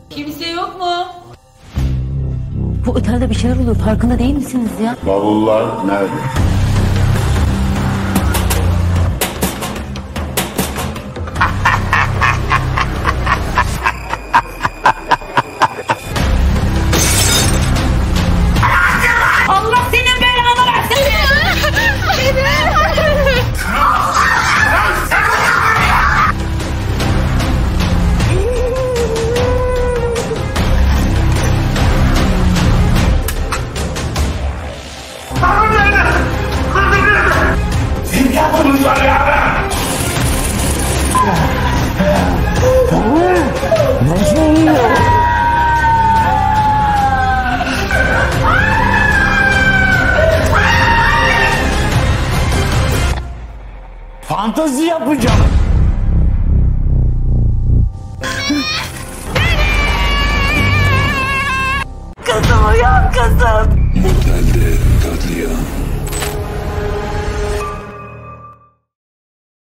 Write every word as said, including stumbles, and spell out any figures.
Kimse yok mu? Bu otelde bir şeyler oluyor. Farkında değil misiniz ya? Bavullar nerede? Allah senin belanı versin. Siz yaptınız var ya! Nasıl oluyor? Fantezi yapacağım. Kızım uyan kızım. Otelde katliam.